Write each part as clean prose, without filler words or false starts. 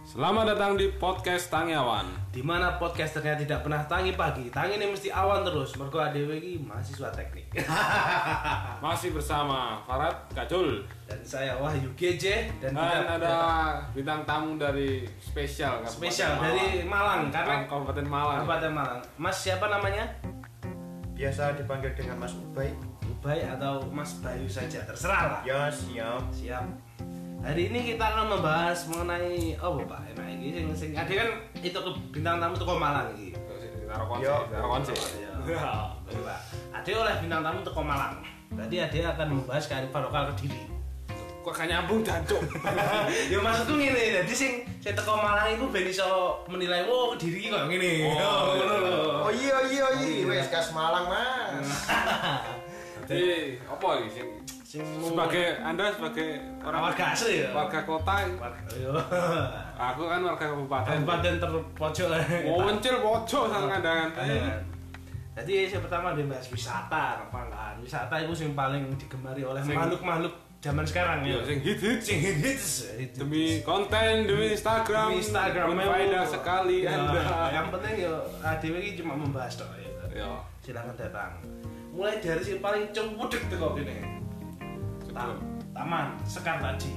Selamat datang di podcast Tangi Awan. Di mana podcasternya tidak pernah tangi pagi, tangi ini mesti awan terus. Mergo adewe iki mahasiswa teknik. Masih bersama Farad Kacul Dan saya Wahyu GJ dan ada bintang tamu dari spesial dari Malang karena Kabupaten Malang. Kabupaten Malang. Mas siapa namanya? Biasa dipanggil dengan Mas Ubay. Ubay atau Mas Bayu saja, terserah lah. Ya siap. Siap. Hari ini kita akan membahas mengenai Pak? Enak ini sing ada kan itu ke bintang tamu teko Malang iki. Taruh konse. Ya. Ade oleh bintang tamu teko Malang. Berarti Ade akan membahas kearifan lokal Kediri. Kok gak nyambung jancuk. Ya maksudku ngene, dadi sing teko Malang iku ben iso menilai Kediri iki kok ngene. Oh iya. Wes kas Malang, Mas. Jadi apa iki sing Anda sebagai orang warga asli ya? Warga kota. Aku kan warga kabupaten terpojok. Muncul pojok sang kandangan. Jadi yang pertama dia bahas wisata, kan? Wisata itu yang paling digemari oleh makhluk-makhluk zaman sekarang ya. Sing hits. Demi konten, demi Instagram faedah sekali Anda. Yang penting ya ADW ini cuma membahas toh ya. Silakan datang. Mulai dari yang paling cempudek tuh kok gini. Taman Sekar Taji.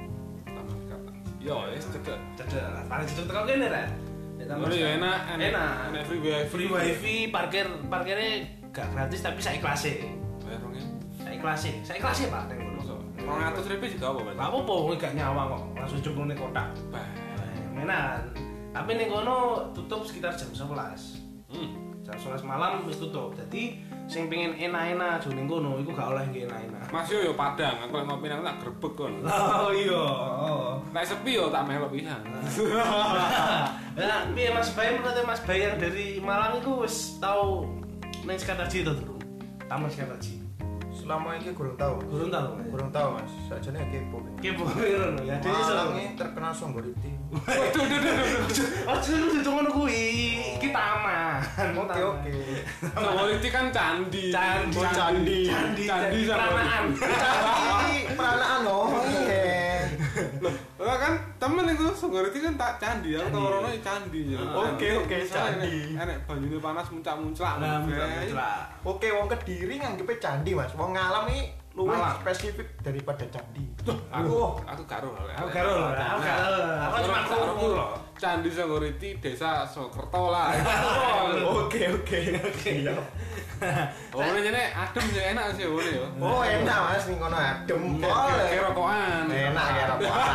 Yo, cedek lah. Paling cedek kok gini kan? Enak. Free wifi, parkirnya gak gratis tapi saya ikhlasi. Saya ikhlasi Pak. Neng ngono. 200.000 juga apa, Mas? Gak apa-apa, gak nyawa kok. Langsung cemplung ning kotak. Menan. Tapi ning kono tutup sekitar jam 11. Jam 11 malam wis tutup. Jadi sing pengen enak-enak aja ning kono iku gak oleh nggih enak-enak. Mas yo Padang, aku lek ngopi nang tak grebek kon. Oh iya. Nek sepi yo tak melok pisan. Lah, piye Mas Bay menurut Mas Bay yang dari Malang iku wis tau ning Sekartaji to durung? Taman Sekartaji. Selama ini kurang tahu. Kurang tahu, Mas. Sajane kepo. Kepo ngono ya. Malang ini terkenal Songgoriti. Waduh. Aja lu ngono kuwi. Iki taman. Oke. Songgoriti kan candi. Candi Pranaan. Pranaan loh. Lah kan temen iku Songgoriti kan tak candi, aku tau rono candi. Oke, candi. Enek banyune panas muncak-muncak. Oke, wong Kediri nganggepe candi, Mas. Wong Ngalam iki luwih spesifik daripada candi. Aku karo. Aku cuma krungu lho. Candi Songgoriti Desa Sokerto lah. Oke. Iya. Oh, ini adem sih enak sih boleh ya. Oh, enak Mas ning kono adem. Kayak rokokan. Enak kayak rokokan.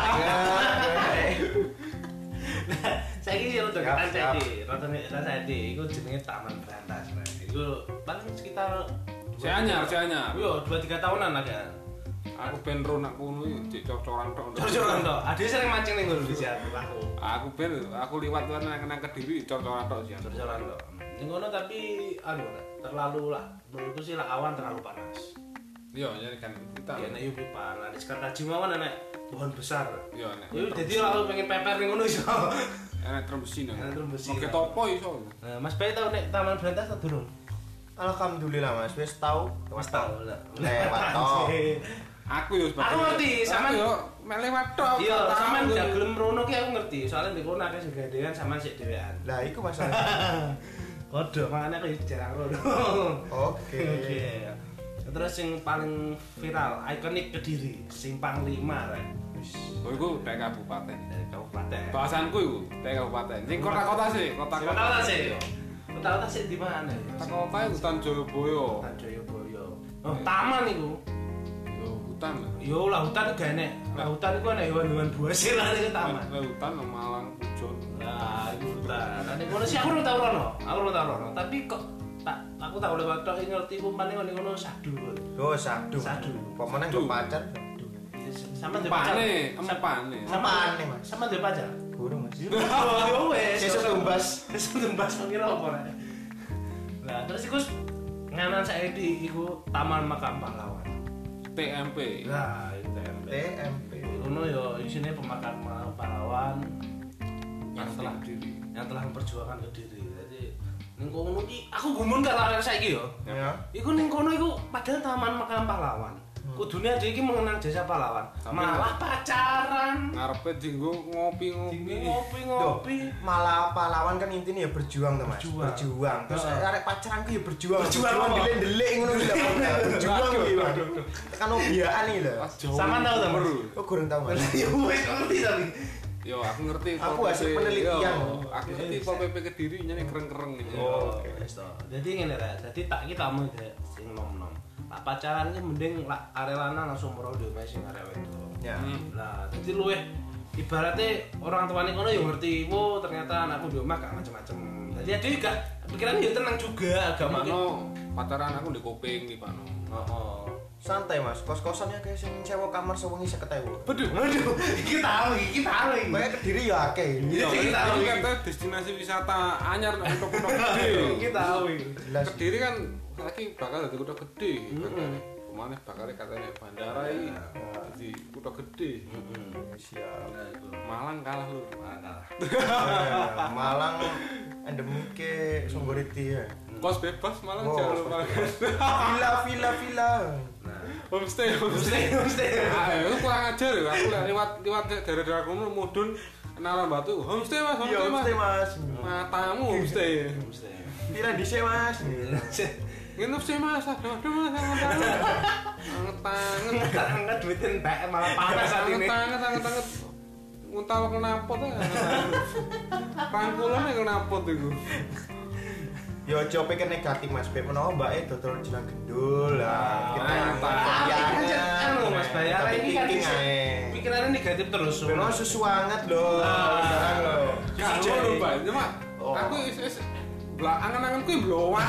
Saiki yo udah ketan saiki. Iku jenenge Taman Berantas. Iku paling sekitar Saya anyar. Yo 2-3 tahunan lah kan. Aku ben ro nak kono iki cor-coran tok. Cor-coran tok. Ade sering mancing ning ngono di aku. Aku liwat nang Kediri cor-coran tok sih. Cor-coran tok. Ning ngono tapi terlalu lah. Menurutku sih lah awan terlalu panas. Iya, jadi kan kita. Ya nek yo pipa. Lah di Sekartaji mawon enek pohon besar. Iya, nek. Yo dadi aku pengen peper ning ngono iso. Enek trembesi nang. Oke topo iso. Nah, Mas Bay tau nek Taman Berantas ta durung? Alhamdulillah Mas, wis tahu. Lewat toh. Aku yo Aku ngerti, sampean yo lewat tok. Iya, sampean gak gelem rono ki aku ngerti. Soalnya di kono akeh sing gandengan sampean sik dhewean. Lah iku masalah. Kodho, makane aku jarang rono. Oke. Terus yang paling viral, ikonik Kediri, Simpang 5 rek. Oh iku tek kabupaten. Kabupaten. Bahasanku iku tek kabupaten. Sing kota-kota sih, kota-kota sih. Kota-kota sih di mana ya? Kota itu Hutan Jayabaya. Oh, taman iku. Yo hutan lah. Yo lah hutan gak enek. Lah hutan iku ana hewan-hewan buas sih lah ning taman. Lah hutan Malang Pujon. Lah iku hutan. Nek ngono sih aku ora tau rono. Tapi kok aku tak oleh waktu ngerti kumpane ngono sadu. Oh, sadu. Pemene nggo pacar. Sama ndek pacar. Empane. Mas. Sama ndek pacar. Gurung Mas. Yo wes. Sesuk tumbas pengira apa rek. Lah terus iku nganan saiki iku Taman Makam Pahlawan. TMP. Nah, TMP. Ngono yo isine pemakaman pahlawan yang telah memperjuangkan Kediri. Jadi ning kono iki aku gumun gak larang saiki yo. Ya. Iku ning kono iku padahal Taman Makam Pahlawan. Kudune ade iki mengenang jasa pahlawan. Malah pacaran. Ngarepe dienggo ngopi. Malah pahlawan kan intinya ya berjuang to, Mas. Berjuang. Terus arek pacaran ku ya berjuang. Berjuang ndelik ngono lho. Berjuang iki, waduh. Tekan obiaan iki lho. Sama tau ta, Mas? Kok kurang tau, Mas? Ya wis ngerti tapi. Yo aku ngerti aku hasil penelitian. Aku ngerti Pol PP Kediri nyane kereng-kereng iki. Oke, wis to. Dadi ngene ta. Dadi tak iki tamu sing nom-nom. Lah pacaran iki mending lak arek lanang langsung merodo wae sing arek wedok. Ya. Lah dadi luwih ibaratnya orang tuane kono yo ngerti, "Oh, ternyata anakku di omah gak macem-macem." Dadi ade gak pikiran yo tenang juga, agak mungkin pacaran aku di Kuping iki, Pak. Heeh. Santai, Mas. Kos-kosannya kayak sing sewa kamar sewengi 50.000. Waduh, iki tahu. Kayak Kediri ya akeh. Iki kata destinasi wisata anyar nang kutha gede. Iki tahu. Kediri kan saiki bakal dadi kutha gede. Kemana bakal katanya bandara iki dadi kutha gede. Siap. Malang kalah lur. Malang endemike Songgoriti ya. Kos bebas Malang jangan lupa. Villa. Homestay. Aku kurang ajar ya. Aku lewat daerah-daerah kono mudun kenalan batu. Homestay Mas. Matamu homestay. Pira dhisik, Mas? Nginep sih Mas. Aduh Mas. Anget duitin entek malah panas saat ini. Anget. Nguntal kenapa tuh? Rangkulan kenapa tuh iku? Ya aja pikir negatif, Mas. Bek menawa mbake dodol jeneng gendul lah. Mas bayar ini kan pikirannya negatif terus. Memang susu hangat loh. Sekarang loh. Kalau lho, Pak. Cuma aku angan-anganku blowak.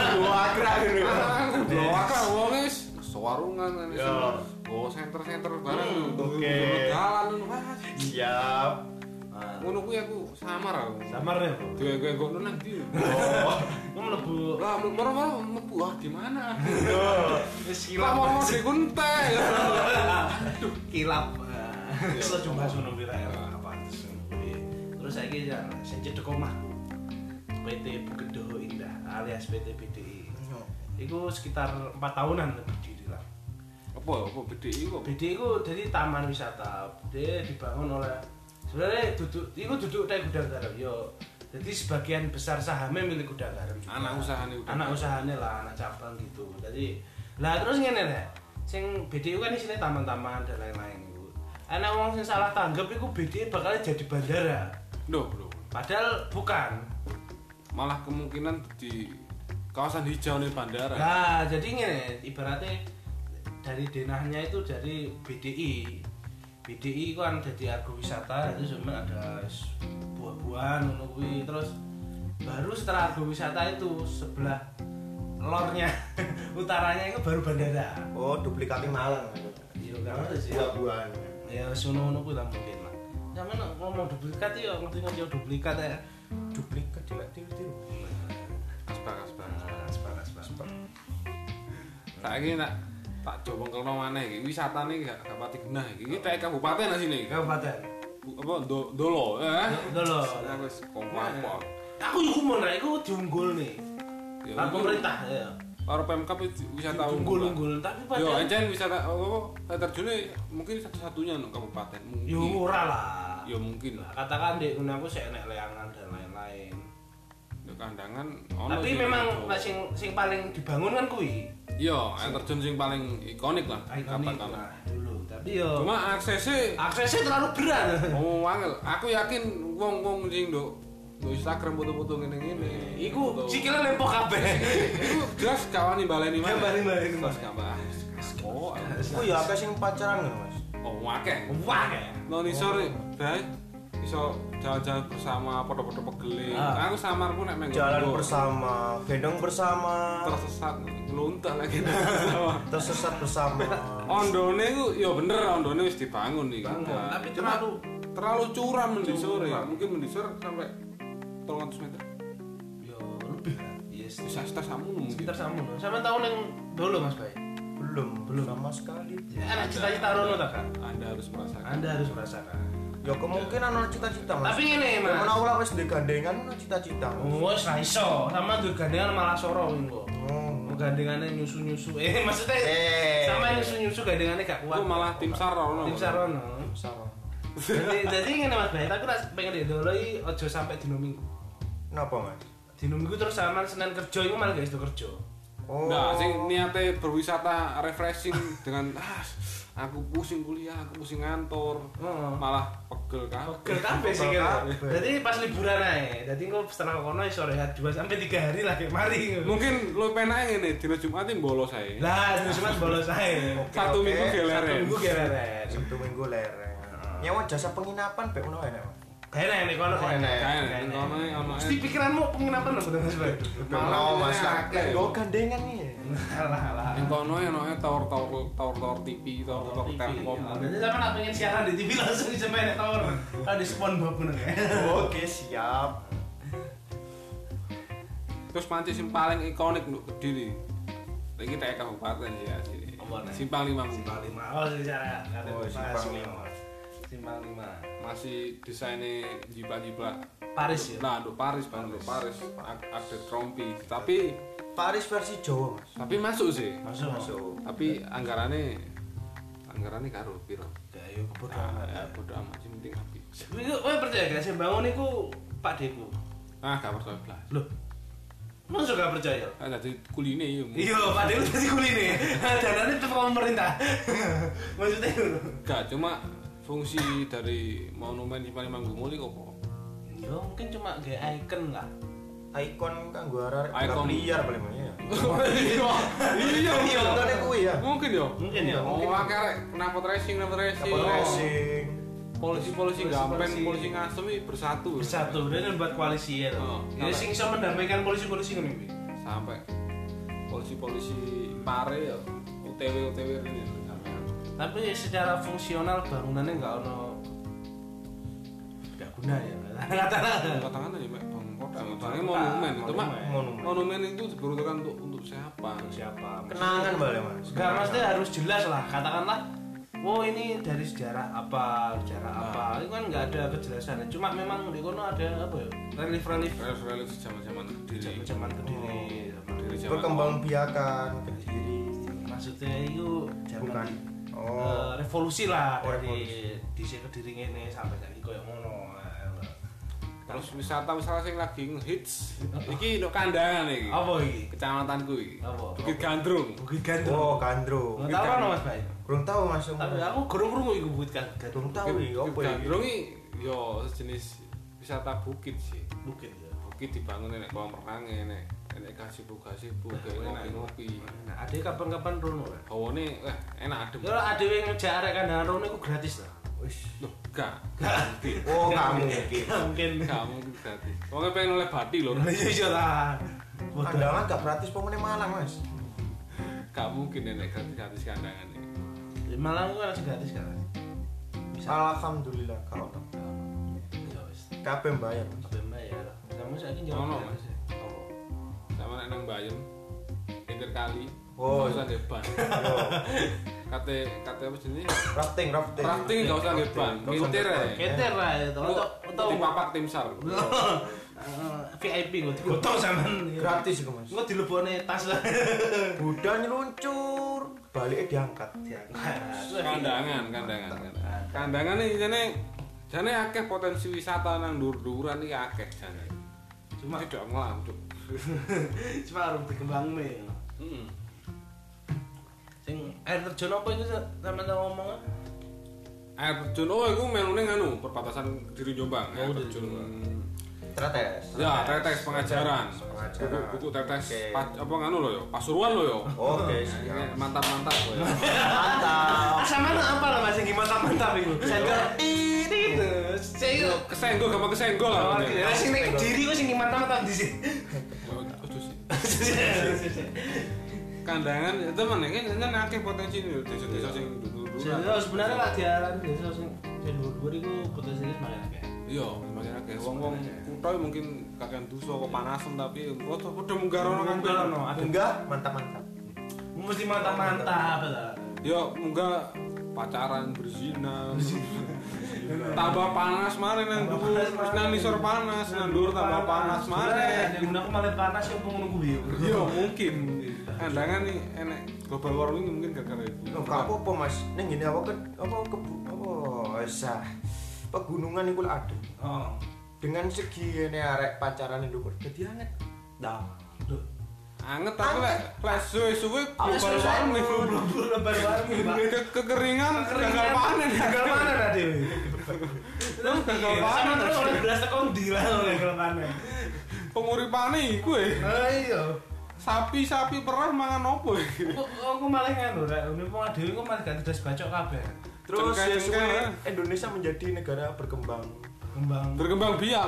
Blowak wong wis sewarungan oh center bareng oke jalan Mas. Siap. Ngono kuwi aku samar aku. Samarnya apa? Dienggo nang ndi? Mlebu. Lah moro-moro mlebu di mana? Wis kilap. Mau dikunte. Aduh, kilap. Iso coba sono pira apa. Terus saiki ya sing cedhek omahku. PT Bugedo Indah alias PT BDI. Iku sekitar 4 tahunan lebih dirilang. Apa BDI kok? BDI iku jadi taman wisata. Dia dibangun oleh sebenarnya duduk dari Gudang Garam yo. Jadi sebagian besar sahamnya milik Gudang Garam juga. Anak usahanya lah, anak cabang gitu. Jadi lah terus ngene nek. Sing BDI kan isine taman-taman dan lain-lain iku. Ana wong sing salah tanggap iku BDI bakal jadi bandara. Loh. Padahal bukan. Malah kemungkinan di kawasan hijau nih bandara. Nah, jadi ngene, ibaratnya dari denahnya itu dari BDI. BDI kan jadi agrowisata, itu cuma ada buah-buahan ngono kuwi. Terus baru setelah agrowisata itu sebelah lornya utaranya itu baru bandara. Oh, duplikatnya Malang. Iya, enggak ngerti sih. Buah-buahan. Ya sono-sono kuwi lah mungkin lah. Sampe ngomong duplikat ya ngerti-ngerti duplikat ya. Duplikat tiru. Aspak. Saiki nak tak coba kelno maneh iki wisatane gak pati genah iki. Iki tek kabupaten asine iki. Kabupaten. Apa Dolo ya? Dolo. Aku wis kompak. Aku yo kumun rek iku diunggul nih. Lah pemerintah ya. Karo Pemkab wisata unggul tapi pada yo encen wisata air terjune mungkin satu-satunya nang kabupaten mungkin. Yo ora lah. Yo mungkin lah. Katakan dek ngono aku sik enek leangan dan lain-lain. Yo kandangan ono. Tapi memang sing paling dibangun kan kuwi. Iya, air terjun sing paling ikonik lah katakan dulu. Tapi yo cuma aksesnya terlalu berat. Oh, angel. Aku yakin wong-wong sing nduk Instagram foto-foto ngene-ngene. Iku sikile lempok kabeh. Iku jelas kawani baleni mana. Baleni Mas gambar. Oh, ya akeh sing pacaran ngono, Mas. Oh, akeh. Nang isor bae iso jalan-jalan bersama, foto-foto pegel. Aku samarku nek menggo. Jalan bersama, gendong bersama, tersesat, ngeluntak lagi. Tersesat bersama. Ondone iku ya bener, ondone wis dibangun iki. Tapi terlalu curam mendisor ya. Mungkin mendisor sampai 300 meter. Ya lebih lah. Yes, bisa samu mungkin. Sekitar samu. Sampe tahun yang dulu Mas Bay. Belum sama sekali. Ada cita-cita rono ta kan? Anda harus merasakan. Ya kemungkinan ono cita-cita, Mas. Tapi ngene, Mas. Menawa wis ndek gandengan ono cita-cita. Wis ra iso. Sama ndek gandengan malah soro engko. gandengannya nyusu-nyusu. Maksudnya sama nyusu-nyusu gandengannya gak kuat. Itu malah tim Sarono. Tim Sarono. Jadi ngene Mas Bae, aku pengen didoloi aja sampai dino Minggu. Napa, Mas? Dino Minggu terus sampean Senin kerja iku malah gak iso kerja. Nah, sing niate berwisata refreshing dengan aku pusing kuliah, aku pusing ngantor, malah pegel kabeh sih kira. Jadi pas liburan ae. Dadi engko setelah kono iso rehat 2 sampai 3 hari lagi mari. Mungkin lu penake ngene, dina Jumat bolos ae. Lah, dina Jumat bolos ae. Satu minggu geleren. Sabtu Minggu leren. Nyawa jasa penginapan bek ngono ae, Mas. Enak nek kono enak. Ono. Mesti pikiranmu penginapan lho Mas Bae. Malah Mas kakek go gandengan nih. Alah. Ning kono enoke tower TV, tower Telkom. Jadi sampean nak pengen siaran di TV langsung bisa main tower. Kan di SpongeBob ngono kae. Oke, siap. Terus panci sing paling ikonik untuk Kediri. Iki tek kabupaten ya sini. Simpang 5. Oh, secara Simpang 5. Masih desainnya jiplak-jiplak Paris ya? Nah, untuk Paris. Ada trompi. Tapi Paris versi Jawa, Mas. Tapi masuk sih. Masuk. Tapi anggarannya karo piro? Ya yo bodo amat. Ya bodo amat sing penting api. Iku kowe percaya gak sih bangun iku Pak Deku? Gak percaya blas. Loh. Masa gak percaya? Dadi kuline yo. Iya, Pak Deku dadi kuline. Danane tetep pemerintah. Maksudnya gak cuma fungsi dari monumen Simpang Manggumuli kok. Ya mungkin cuma kayak icon lah. Ikon kanggo arek Ikon liar paling ya. Iya. Contohnya kuwi ya. Mungkin ya. Oh, akeh knalpot racing. Polisi Gampen, polisi Ngasem iki bersatu. Dan buat koalisi ya. Ya sing iso mendamaikan polisi-polisi ngono iki. Sampai polisi Pare ya OTW ini. Tapi secara fungsional bangunannya nggak guna ya. Katakan aja mek monumen itu mah monumen itu diperuntukkan untuk siapa? Kenangan balik, Mas. Enggak, maksudnya harus jelas lah. Katakanlah ini dari sejarah apa. Itu kan nggak ada kejelasan. Cuma memang di kono ada apa ya? Relief zaman Kediri. Perkembangbiakan Kediri. Maksudnya itu zaman revolusi lah dari Kediri ngene sampai saiki koyo ngono. Terus wisata sing lagi ngehits iki nduk kandangan iki. Apa iki? Kecamatanku iki. Apa? Bukit Gandrung. Oh, Gandrung. Tahu kan Mas Bay? Kurang tahu Mas. Tapi aku krungu iku Bukit Gandrung. Tahu iki opo iki? Gandrung iki yo sejenis wisata bukit sih. Bukit ya. Bukit dibangun nek kolam renang nek gazebo ngopi. Nah, ade kapan-kapan rono. Hawane enak adem. Yo ade ngejak arek kandangan rono iku gratis lah. Wis, loh, gak. Oh, kamu mungkin. Kamu gratis. Wong pengen oleh bati lho. Iya lah. Kandangan gak gratis pemene Malang, Mas. Gak mungkin nek gratis kandangan iki. Di Malang itu harus gratis kan? Alhamdulillah kalau ya wis. kabeh bayar. Kabeh bayar. Kamu saiki jawab. Sama nek nang Bayem. Pinggir kali. Oh, usah depan. Kate apa jenenge? Rafting Enggak usah depan. Kintir ae. Kintir lah itu. Untuk papak tim SAR. VIP kok digotong sampean. Gratis iku, Mas. Engko dilebone tas lah. Budan nyeluncur, baliknya diangkat. Kandangan iki jane akeh potensi wisata nang dhuwur-dhuwuran iki akeh jane. Cuma tidak ngelancuk. Cuma harus dikembangin. Sing air terjun apa itu sampean ngomong? Air terjun iku melune nganu perbatasan Kediri Jombang. Air terjun Tetes. Ya, tetes pengajaran. Buku tetes apa nganu lho ya, Pasuruan lho ya. Oke, mantap kok ya. Mantap. Sama apa lah Mas sing mantap iku? Senggol. Itu. Saya kesenggol gampang kesenggol lah. Ya sing nek Kediri kok sing mantap di sini. Kandangan temen kan akeh potensi desa-desa sing dhuwur-dhuwur. Sebenarnya lak diaran desa sing dhuwur-dhuwur iku potensinya semakin akeh. Iya, semakin akeh. Wong-wong kutha mungkin kakean dosa kok panasan tapi padha munggah rono kan. Munggah mantap-mantap. Mesti mantap-mantap ta. Ya munggah pacaran berzina. Tambah panas maneh nang dhuwur, nang nisor panas, nang dhuwur tambah panas maneh. Nek aku malah panas yo ngono kuwi. Iya, mungkin. kandangan nih enek global warming mungkin gara-gara itu. Enggak apa-apa Mas. Ning ngene apa pegunungan iku ada. Oh. Dengan segi ini arek pacaran itu dadi anget. Dah. Anget tapi lek suwe-suwe global warming. Global warming, Pak. Kekeringan gagal panen. Gagal panen ta dhewe. Terus gagal panen terus oleh beras tekon ndi lah gagal panen. Penguripane iku Iya. Sapi perah mangan opo iki? Aku malah ngono rek, wong dhewe kok malah gak tedas bacok kabeh. Terus ya Indonesia menjadi negara berkembang biak.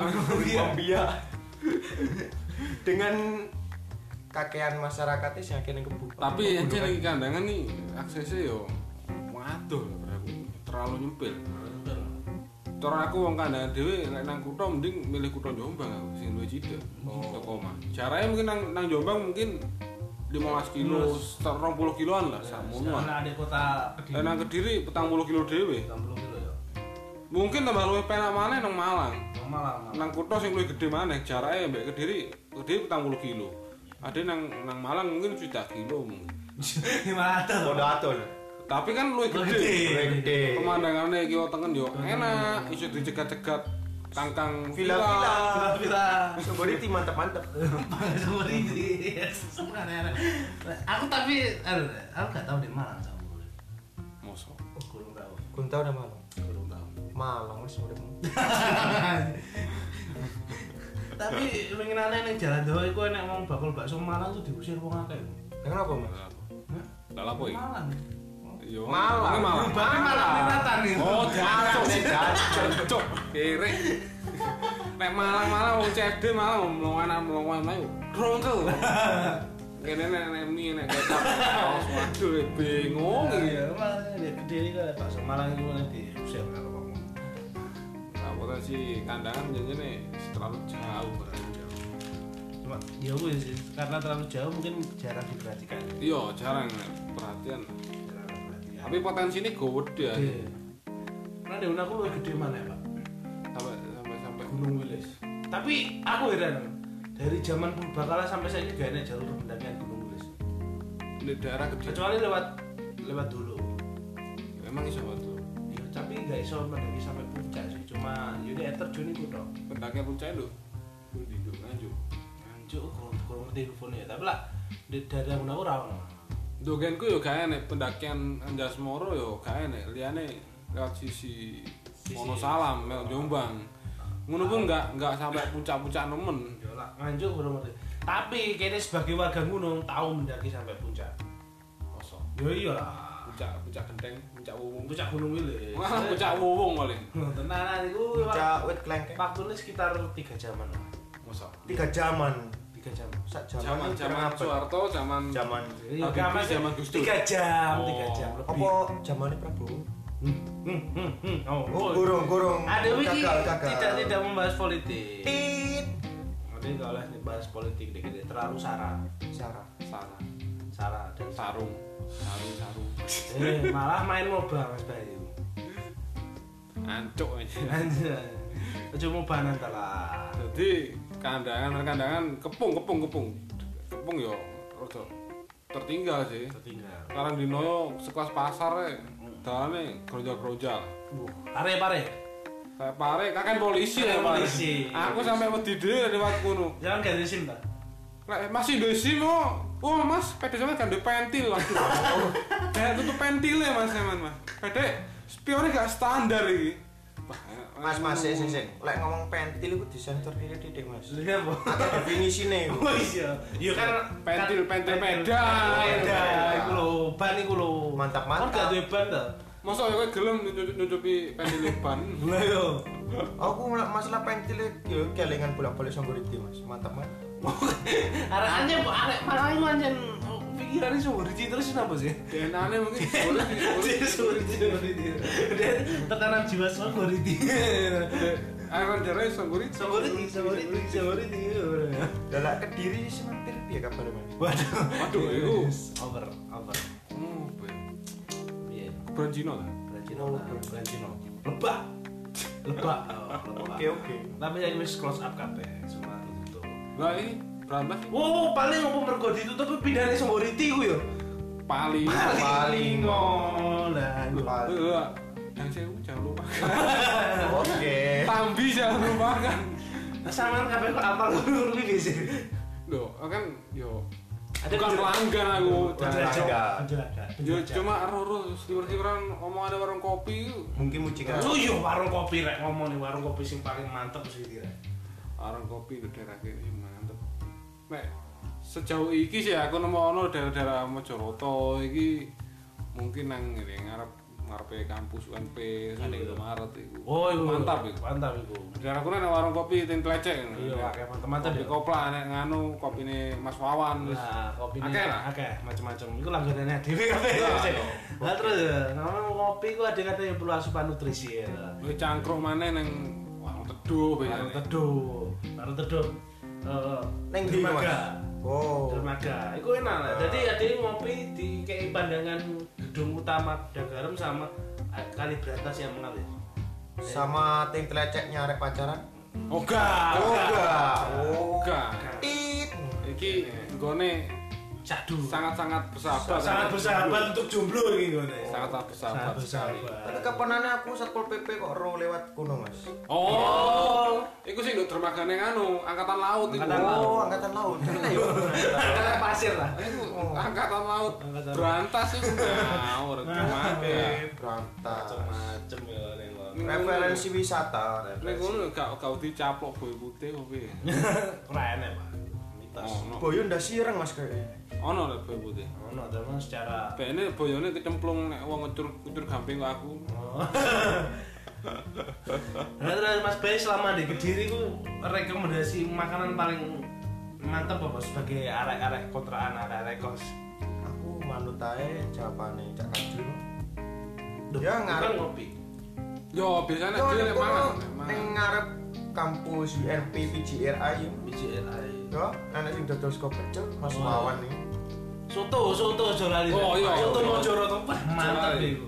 Dengan kakean masyarakatnya sing akeh ning kebun. Tapi yen iki kandangan nih aksesnya yo waduh terlalu nyempil. Cara aku wong kandangan dhewe nek nang kutho mending milih kutho Jombang aku sing luwih cedhak. Teko mah. Jarane mungkin nang Jombang mungkin 15 kilo, 20 kiloan lah sakmono. Nah, ada kota Kediri. Nang Kediri 40 kilo dhewe. 40 kilo ya. Mungkin tambah luwih penak maneh nang Malang. Malang. Nang kutho sing luwih gedhe maneh, jarake mbek Kediri 40 kilo. Ada nang Malang mungkin 1 kilo mungkin. Gimana tuh? Podo Tapi kan luwih gede. Pemandangannya kiwa tengen yo enak, iso dicegat-cegat kangkang villa. Sebenarnya mantap. Sebenarnya sebenarnya. Aku tapi aku gak tahu di Malang sama. Mosok. Kurang tahu. Kurang tahu nama Malang. Kurang tahu. Malang wis uripmu. Tapi pengen aneh ning jalan doa iku enek wong bakul bakso Malang tuh diusir wong akeh. Kenapa, Mas? Lah apa iki? Malang. Yo. Malang. Berarti Malang minatan nih. Oh, jancuk. Kere. Nek Malang wong cedhe malah mlongan ayo. Rongkel. Kene nek mie nek kecap. Waduh, bingung iki. Iya, Malang gede iki kok bakso Malang iku nek diusir karo wong. Apa sih kandangan jadinya terlalu jauh berarti. Cuma ya wis karena terlalu jauh mungkin jarang diperhatikan. Iya, jarang perhatian. Tapi potensinya gede ya. Karena di aku lebih gede mana ya, Pak? Sampai Gunung Wilis. Tapi aku heran dari zaman purbakala sampai saya juga enak jalur pendakian Gunung Wilis. Di daerah gede. Kecuali lewat dulu. Emang iso bantu. Iya, tapi nggak iso mendaki sampai puncak sih. Cuma yaudah terjun itu dong. Pendakian puncak itu. Di Nganjuk. Nganjuk kurang ngerti infonya. Tapi lah di daerah Gunung Rawan. Dogenku yo gak enek pendakian Anjasmoro yo gak enek. Liyane lewat sisi Wonosalam, mel Jombang. Ngono pun enggak sampai puncak-puncak nemen. Yo lah Nganjuk kurang ngerti. Tapi kene sebagai warga gunung tahu mendaki sampai puncak. Kosong. Yo iyalah. Puncak genteng, puncak wuwung. Puncak Gunung Wilis. Wah, puncak wuwung paling. Tenanan iku Puncak wit klengkeng. waktune sekitar 3 jaman. Mosok. 3 jaman. 3 jam. Sak jaman Soeharto, zaman Iya, Habibie, zaman Gus Dur. 3 jam, 3 jam lebih. Apa zamane Prabowo? Oh, Gorong. ada wiki Gagal. tidak membahas politik. Tit. Nanti kalau dibahas politik dikit terlalu sara dan Sarung. malah main MOBA Mas Bayu. Ancuk aja. Anjir. Aja MOBA nanti lah. Jadi kandangan kepung yo rada tertinggal sih. Sekarang di Noyo sekelas pasar dalane grojal-grojal. Pare. Kayak pare kakek polisi ya polisi. Aku sampai wedi dhewe lewat kono. Jangan ganti SIM, Pak. Lek masih ndek SIM oh Mas, pede sampe kan ndek pentil waduh. Kayak tutup pentile Mas sampean Mas. Pede spione gak standar iki. Mas sing lek ngomong pentil iku disensor titik Mas. Lha apa? Ada definisine iku. Oh iya. Iya kan pentil peda. Iku lho, ban iku lho. Mantap. Kan gak duwe ban ta? Masa kowe gelem nutupi pentil ban? Lah yo. Aku masalah pentil yo kelingan bolak-balik Songgoriti Mas. Mantap. Arek malah iku anjen pikirane Songgoriti terus napa sih? DNA-ne mungkin Songgoriti. Dia tertanam jiwa Songgoriti. Akan jare Songgoriti. Lah Kediri sih mampir piye kabar Mas? Waduh iku over. Piye? Brand Cina ta? Brand Cina. Lebak. Oke. Tapi saya wis close up kabeh semua itu. Lah ini Berantas. Oh, paling opo mergo ditutup pindahane Semboriti ku yo. Paling ngolah. Yang saya jangan lupa. Oke. Tambi jangan lupakan. Sampeyan kabeh kok apal ngono iki wis. Loh, kan yo ada bukan pelanggan aku. Penjaga. Yo cuma ero siwer-siweran omongan warung kopi. Mungkin mucikar. Oh iya warung kopi rek ngomong nih warung kopi sing paling mantep sih iki rek. Warung kopi di daerah kene mantep. Nek sejauh iki sih aku nemu daerah-daerah Mojoroto iki mungkin nang ngene ngarepe kampus UNP sing Indomaret iku. Oh, iku mantap iku. Mantap iku. Daerah kono ana warung kopi ten Tlecek. Iya, akeh mantep-mantep kopi kopla nek nganu kopine Mas Wawan wis. Nah, kopine akeh macam-macam. Iku langganane dhewe kabeh. Lah terus ngomong kopi ku ada kata yang perlu asupan nutrisi ya. Kowe cangkruk maneh nang warung teduh Warung teduh. Neng Dermaga. Oh. Dermaga. Iku enak lah. Jadi ada ngopi di kayak pandangan gedung utama Dagaram sama Kali Berantas yang mengalir. Sama tim teleceknya arek pacaran. Oga. Tit. Iki nggone Cadu. sangat-sangat bersahabat. Sangat bersahabat untuk jomblo iki ngene. Sangat bersahabat sekali. Tapi kapanane aku Satpol PP kok ro lewat kuno, Mas. Oh, iku sing nduk dermagane nganu, angkatan laut iku. Angkatan laut. Angkatan pasir lah. Iku angkatan laut. Berantas iku ngawur dermaga. Berantas. Macem ya ning. Referensi wisata. Nek ngono gak dicaplok boy putih opo piye? Keren ya, Pak. Mitos. Boyo ndak sireng, Mas kayaknya. Ono lho boy putih. Ono teman secara Bene boyone kecemplung nek wong ngecur gamping kok aku. Nah, terus Mas Bay selama di Kediri ku rekomendasi makanan paling mantap apa sebagai arek-arek kontrakan arek-arek kos? Aku manut ae jawabane Cak Kajul. Duh, Ya, ngarep. bukan ngopi. Yo biasane dhewe nek mangan. Ning ngarep kampus UNP PGRI yo. BJRI. Yo, ana sing dodol sego pecel Mas Wawan iki. Soto aja lali. Oh, iya. Soto Mojoroto mantap iku.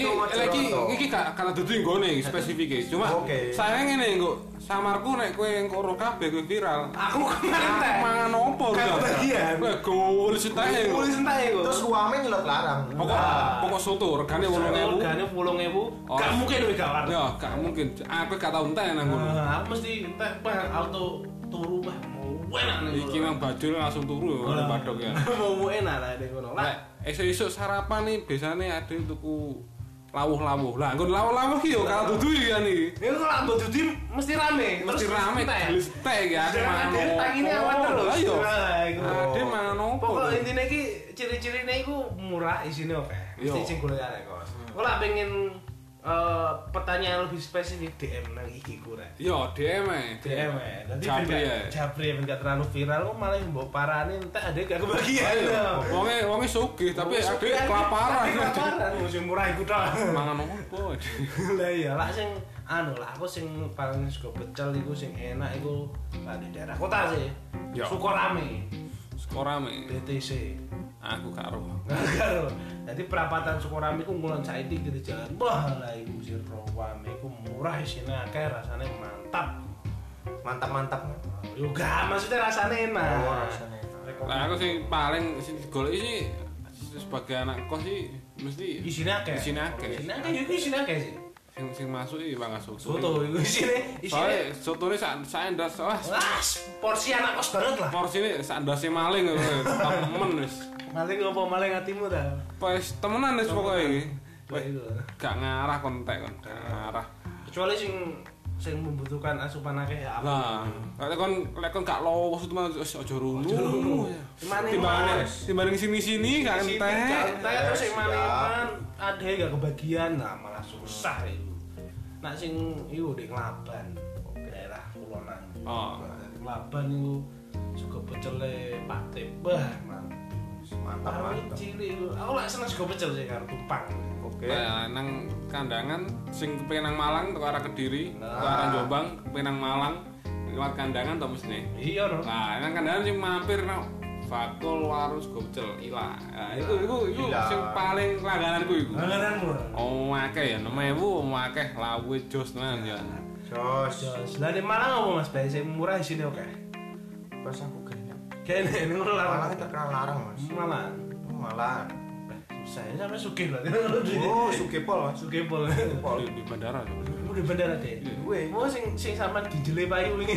Iki gak kana dudu nggone iki spesifike. Cuma sayang ngene engko samarku nek kowe engko ro kabeh kowe viral. Aku kemana? Mangan opo Gak kebagian. Kowe gowul setahe. Tulis entek iku. Terus uame nyelot larang. Pokok soto regane 8.000. Regane 8.000. Gak mungkin kowe gak warna. Ya, gak mungkin. Aku gak tau entek nang ngono. Aku mesti entek auto turu bah. Mau enak nih. Iki nang bajul langsung turu ya padok ya. Mau enak lah ning ngono. Lah, esuk-esuk sarapan nih biasane ada tuku lawuh-lawuh. Lah, nggon lawuh-lawuh iki yo kalau dudu iki kan iki. ini kalau mbok dudi mesti rame. Mesti rame gelis teh ya mangan. Tangine awan terus. Lah yo. Nah, iku. Ade mangan opo? Pokok intine iki ciri-cirine iku murah isine oke. Mesti sing golek arek kos. Kok lak pengen pertanyaan lebih spesifik DM nang iki ku rek. Yo DM e. DM e. Dadi Japri ben gak terlalu viral kok malah mbok parani entek ade gak kebagian. Wonge sugih tapi ade kelaparan. Kelaparan sing murah iku tok. Mangan opo? Lah iya, lah sing aku sing paling suka pecel iku sing enak iku di daerah kota sih. Sukorame. Sukorame. BTC. Aku karo. Karo. Jadi perapatan Sukorame iku ngulon saiki di jalan. Wah, lah iku sing rame iku murah isine akeh rasane mantap. Mantap-mantap. Yo gak maksudnya rasane enak. Oh, rasane enak. Lah aku sing paling sing digoleki sih sebagai anak kos sih mesti Isine akeh. Isine akeh. Isine akeh sih. Sing masuk iki Bang Soto. Soto iku isine. Soale sotone sak endas Wah, porsi anak kos banget lah. Porsine sak endase maling temen wis. Maling apa maling hatimu ta? Wis temenan wis pokoke iki. Itu. Gak ngarah kontek kon, gak ngarah. Kecuali sing membutuhkan asupan akeh ya apa. Lah, lek kon gak lowo temen wis aja rungu. Timbang sini-sini gak entek. Entek terus sing maneman ade gak kebagian, nah malah susah itu. Nak sing iku di Klaban, daerah kulonan. Oh. Klaban iku suka pecele Pak Tip. Bah, mantap. Cilik iku. Aku lak seneng suka pecel sih karo tumpang. Oke. Nah, nang kandangan sing kepengin nang Malang teko arah Kediri, teko arah Jombang, kepengin nang Malang lewat kandangan to mesti. Iya no. Nah, nang kandangan sing mampir nang Fakul Warus Gocel Ila. Nah, iku sing paling langgananku iku. Langgananmu. Oh, akeh ya 6.000, akeh lawe jos tenan ya. Jos. Lah di Malang apa Mas Bay sing murah isine oke. Pas aku kayaknya Kene ngono larang. Malang terkenal larang, Mas. Malang. Saya sampai sugih berarti. Oh, Sugepol, Mas. Sugepol. Di bandara. Di bandara deh. Oh sing sampean dijele payu wingi.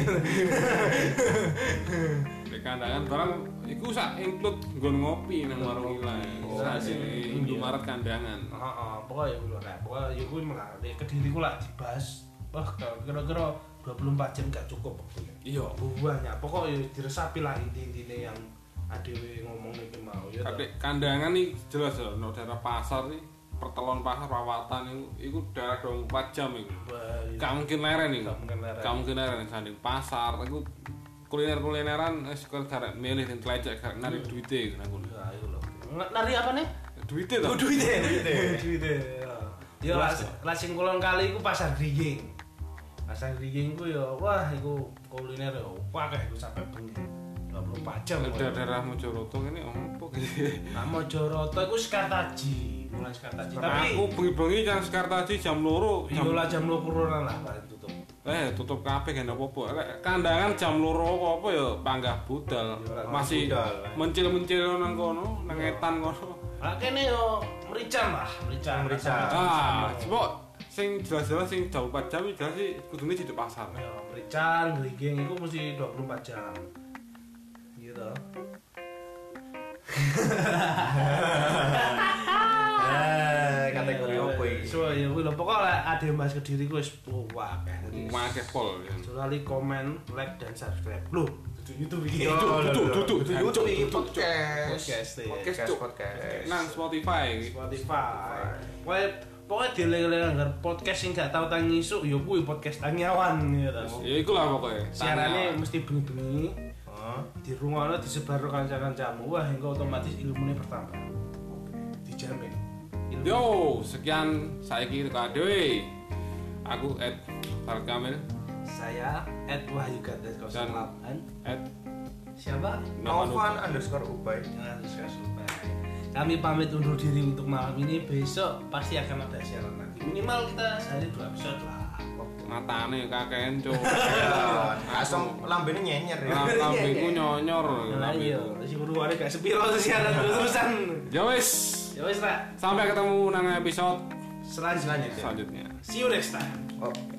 Di kandangan barang iku sak include nggon ngopi nang warung ilae. Sing Indomaret kandangan. Heeh, pokoke yo lho nek. Pokoke yo kuwi malah Kediriku lak dibahas. Wah, kira-kira 24 jam gak cukup waktunya. Iya, banyak. Pokoknya diresapi lah inti-intine yang adewe ngomong iki mau ya. Kadek kandangan nih jelas ya, no daerah pasar nih, pertelon pasar perawatan itu daerah 24 jam itu. Gak mungkin leren nih. Gak mungkin leren sanding pasar itu kuliner-kulineran sekedar milih dan telecek karek nari duite nang ngono. Ya ayo lho. Nari apa nih? Duite to. Duite. Ya lah sing kulon kali iku pasar Griying. Pasar Griying ku ya wah iku kuliner ya akeh iku sampe bengi. 24 jam. Daerah Mojoroto ini opo gitu. Nah Mojoroto iku Sekartaji, mulai Sekartaji. Tapi aku bengi-bengi kan Sekartaji jam 2. Jam 2 lah paling tutup. Tutup kabeh kan apa-apa. Kandangan jam 2 apa ya panggah budal. Masih mencil-mencil nang kono, nang etan kono. Lah kene yo merican lah, merican. Coba sing jelas-jelas sing 24 jam jelas sih kudune di pasar. Ya, merican, Griying iku mesti 24 jam. Gitu. Kategori opo iki? So ya kuwi lho pokoke ade Mas Kediri ku wis akeh. Akeh pol. Jolali komen, like dan subscribe. Loh, YouTube iki. Tutup iki Podcast. Nang Spotify. Pokoknya dieling-eling anggar podcast sing gak tau tangi isuk ya kuwi podcast tangiawan gitu. Ya iku lah pokoknya. Siarane mesti bengi-bengi. Di rumah disebar kanca-kancamu, wah engko otomatis ilmune bertambah. Dijamin. Yo, sekian saiki karo dhewe. Aku Farkamil. Saya @wahyugat08 siapa? Novan_Ubay. Kami pamit undur diri untuk malam ini. Besok pasti akan ada siaran lagi. Minimal kita sehari 2 episode lah. Matane kakean cuk. Langsung lambene nyenyer ya. Lambeku nyonyor. Lah iya, si beruare gak sepiro siaran terus-terusan. Ya wis. Ya wis, Pak. Sampai ketemu nang episode Selanjutnya. selanjutnya. See you next time. Oke.